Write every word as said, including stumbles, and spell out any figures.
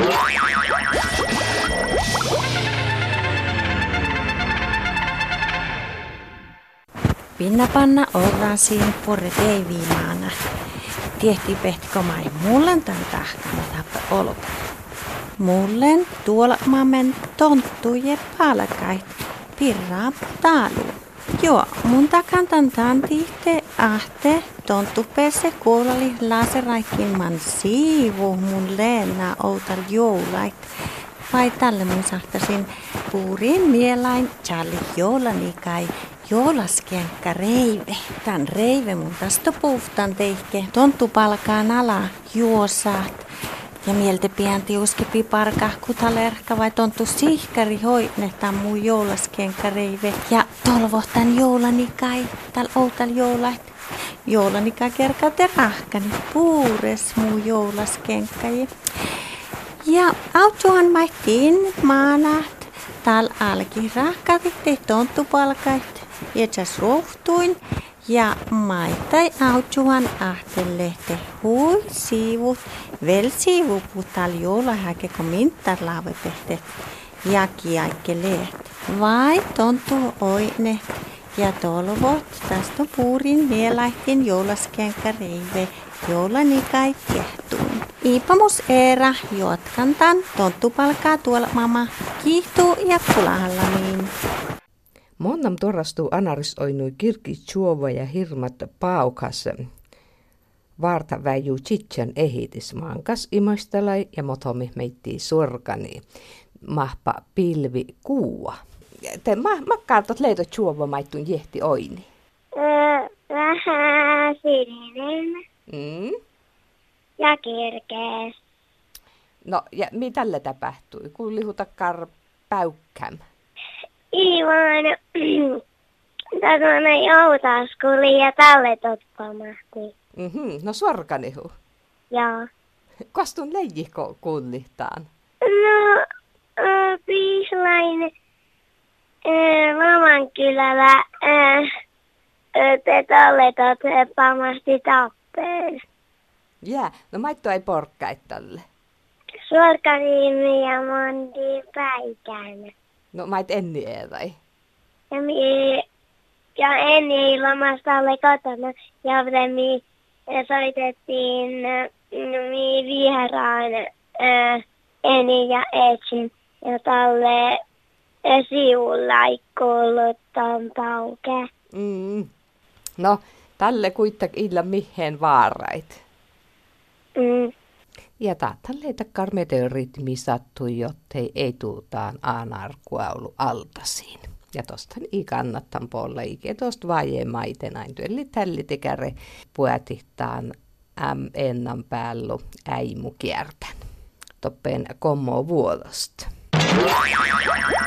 Pinna panna orrasiin porre teiviimaana. Tiehti pehtiko mai mullen tai tahkana tappe olka. Mullen tuolla maamen tonttuje palkait pirraa taalu. Joo, mun takantan tantihte ahte tonttupeesse kuolali laseraikin man siivu mun leena outal joulait. Vai tälle mun sahtasin puuriin mielain Charlie joulani kai joulaskenkka reive. Tän reive mun tästä puhtaan teihke. Tonttu palkaan ala juosaat. Ja mieltä pian tiuskepi parka kutalerkka vai tonttu sihkari hoidnetaan mun joulaskenkka reive. Ja tolvohtan joulani kai täl outal joulait. Joulani kai kerkaute rahkani puures mun joulaskenkkaji. Ja autuhan maittiin maanaht. Tal alki rahkatitte tonttupalkait. Jätsäs rohtuin. Ja maitai autuhan ahtelehte hui siivut. Vel siivuput tal joulahäke kun mintar laavepehte. Ja kiaikkeleet. Vai tonttu oine. Ja tolvot tästä puurin mielaihtin joulaskenkä reive. Joulani kai tiehtuun. Iipamus eera jotkantan tonttupalkaa tuolla mama kiihtuu ja kulahallamiin. Monnam torrastuu anaris oinui kirki tjuova ja hirmat paukas. Vaarta väijuu tsitsän ehitis mankas imastalai ja motomi meittii sorkani. Mahpa pilvi kuua. Te ma, makkaatot leito tjuova maittun jehti oini. Öö, vähän sininen. Mm? Ja kirkees. No, ja mitä tällä tapahtui? Kun lihutakkar päykkäm? Ivan, tällainen joutaskuli ja tälle toppamahti. Mhm, no sorkanihu. Joo. Kostun leijiko kullihtaan? No, äh, piislain äh, Lamankylällä äh, te tälle toppamahti tappeen. Jää, no maitto ei porkkait tälle. Suorkaniimi ja Mondi Päikänä. No mait enni eeväi. Ja, mi, ja Enni lomasta oli kotona ja mi soitettiin mi vieraan äh, Enni ja Etsin ja tälle äh, sivulla ei kuullut ton pauke. Mm. No, tälle kuitenkin illa mihin vaarait. Mm. Ja tälle karmeteoritmi sattui, jottei ei tuutaan aanarkuaulu altasiin. Ja tostan ei kannattan polla ikä tosta vaje maitenain työlli tälli tekäre puetihtaan äm ennan päällu äimu kiertän. Toppen kommo vuodosta.